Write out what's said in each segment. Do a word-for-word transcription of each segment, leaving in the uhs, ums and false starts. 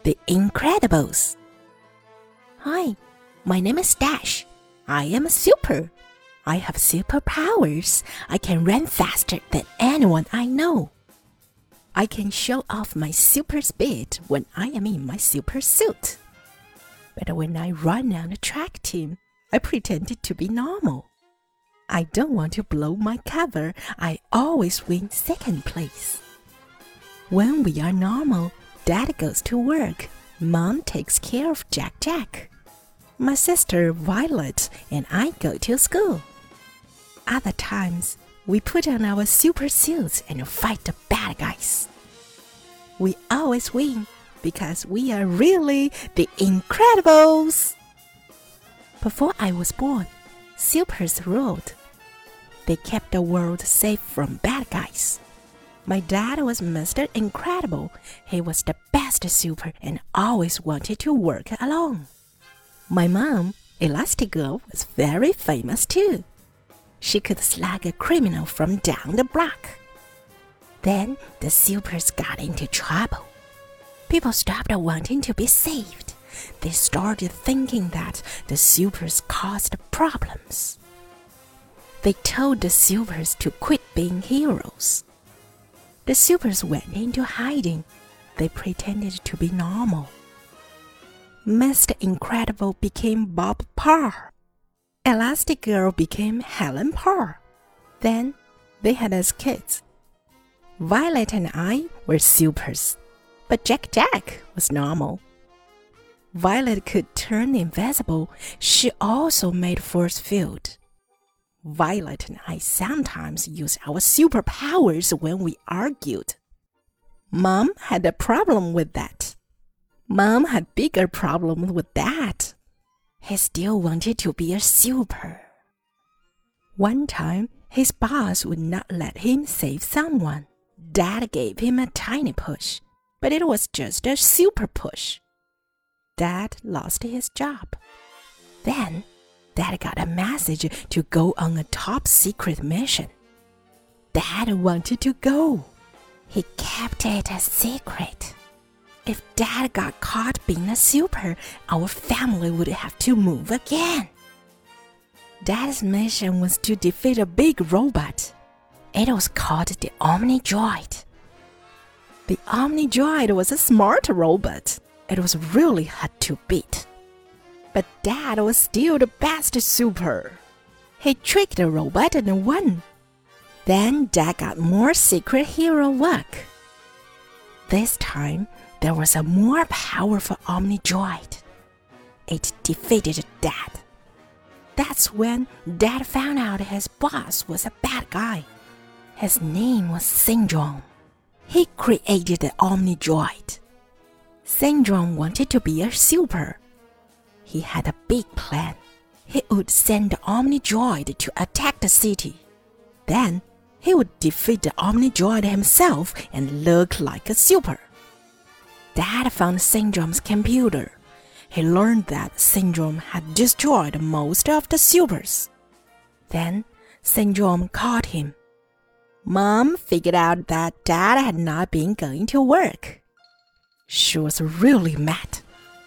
The Incredibles. Hi, my name is Dash. I am a super. I have superpowers. I can run faster than anyone I know. I can show off my super speed when I am in my super suit. But when I run on a track team, I pretended to be normal. I don't want to blow my cover. I always win second place. When we are normal, Dad goes to work. Mom takes care of Jack Jack. My sister Violet and I go to school. Other times, we put on our super suits and fight the bad guys. We always win because we are really the Incredibles. Before I was born, supers ruled. They kept the world safe from bad guys. My dad was Mister Incredible. He was the best super and always wanted to work alone. My mom, Elastigirl, was very famous too. She could slug a criminal from down the block. Then the supers got into trouble. People stopped wanting to be saved. They started thinking that the supers caused problems. They told the supers to quit being heroes. The supers went into hiding. They pretended to be normal. Mister Incredible became Bob Parr. Elastigirl became Helen Parr. Then they had us kids. Violet and I were supers, but Jack Jack was normal. Violet could turn invisible. She also made force field. Violet and I sometimes used our superpowers when we argued. Mom had a problem with that. Mom had bigger problems with that. He still wanted to be a super. One time, his boss would not let him save someone. Dad gave him a tiny push, but it was just a super push. Dad lost his job. Then, Dad got a message to go on a top secret mission. Dad wanted to go. He kept it a secret. If Dad got caught being a super, our family would have to move again. Dad's mission was to defeat a big robot. It was called the Omnidroid. The Omnidroid was a smart robot. It was really hard to beat. But Dad was still the best super. He tricked the robot and won. Then Dad got more secret hero work. This time, there was a more powerful Omnidroid. It defeated Dad. That's when Dad found out his boss was a bad guy. His name was Syndrome. He created the Omnidroid. Syndrome wanted to be a super. He had a big plan. He would send the Omnidroid to attack the city. Then, he would defeat the Omnidroid himself and look like a super. Dad found Syndrome's computer. He learned that Syndrome had destroyed most of the supers. Then, Syndrome caught him. Mom figured out that Dad had not been going to work. She was really mad.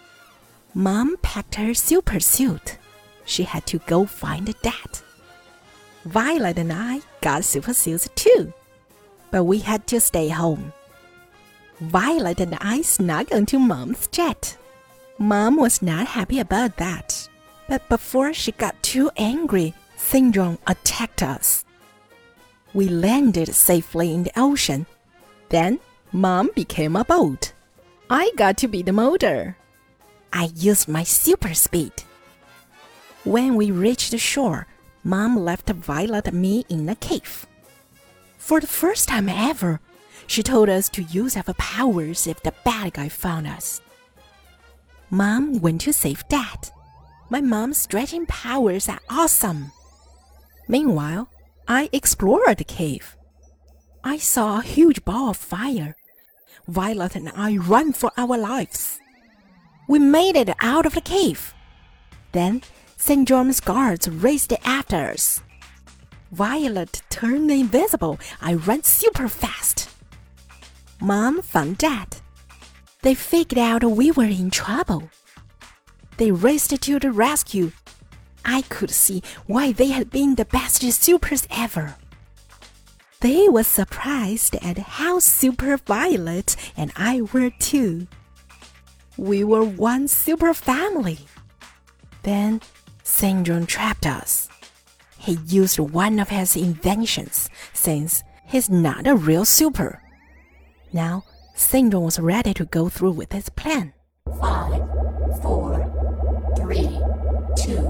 Mom packed her super suit. She had to go find Dad. Violet and I got super suits too, but we had to stay home. Violet and I snuck onto Mom's jet. Mom was not happy about that, but before she got too angry, Syndrome attacked us. We landed safely in the ocean. Then, Mom became a boat. I got to be the motor. I used my super speed. When we reached the shore, Mom left Violet and me in a cave. For the first time ever, she told us to use our powers if the bad guy found us. Mom went to save Dad. My mom's stretching powers are awesome. Meanwhile, I explored the cave. I saw a huge ball of fire. Violet and I ran for our lives. We made it out of the cave. Then, Syndrome's guards raced after us. Violet turned invisible. I ran super fast. Mom found Dad. They figured out we were in trouble. They raced to the rescue. I could see why they had been the best supers ever. They were surprised at how super Violet and I were too. We were one super family. Then Saint John trapped us. He used one of his inventions, since he's not a real super. Now, Saint John was ready to go through with his plan. Five, four, three, two,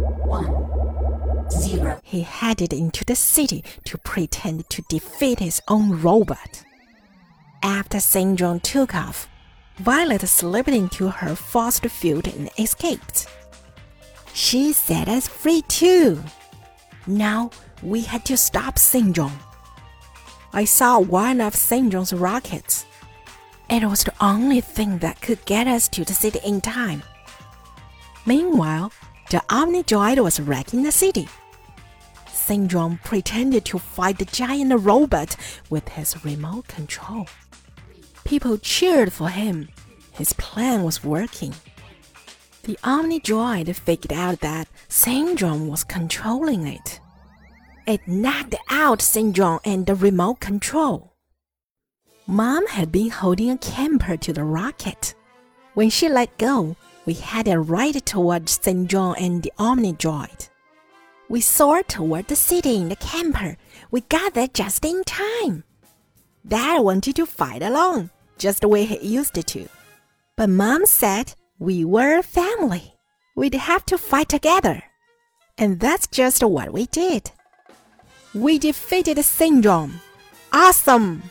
one, zero. He headed into the city to pretend to defeat his own robot. After Saint John took off, Violet slipped into her force field and escaped. She set us free too. Now we had to stop Saint John. I saw one of Saint John's rockets. It was the only thing that could get us to the city in time. Meanwhile, the Omnidroid was wrecking the city. Saint John pretended to fight the giant robot with his remote control. People cheered for him. His plan was working. The Omnidroid figured out that Saint John was controlling it. It knocked out Saint John and the remote control. Mom had been holding a camper to the rocket. When she let go, we headed right towards Saint John and the Omnidroid. We soared toward the city in the camper. We got there just in time. Dad wanted to fight alone, just the way he used to. But Mom said we were a family. We'd have to fight together. And that's just what we did. We defeated Saint John. Awesome!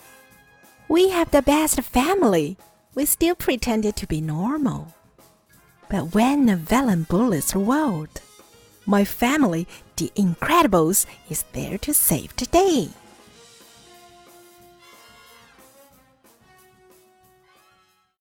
We have the best family. We still pretended to be normal. But when the villain bullies the world, my family, the Incredibles, is there to save the day.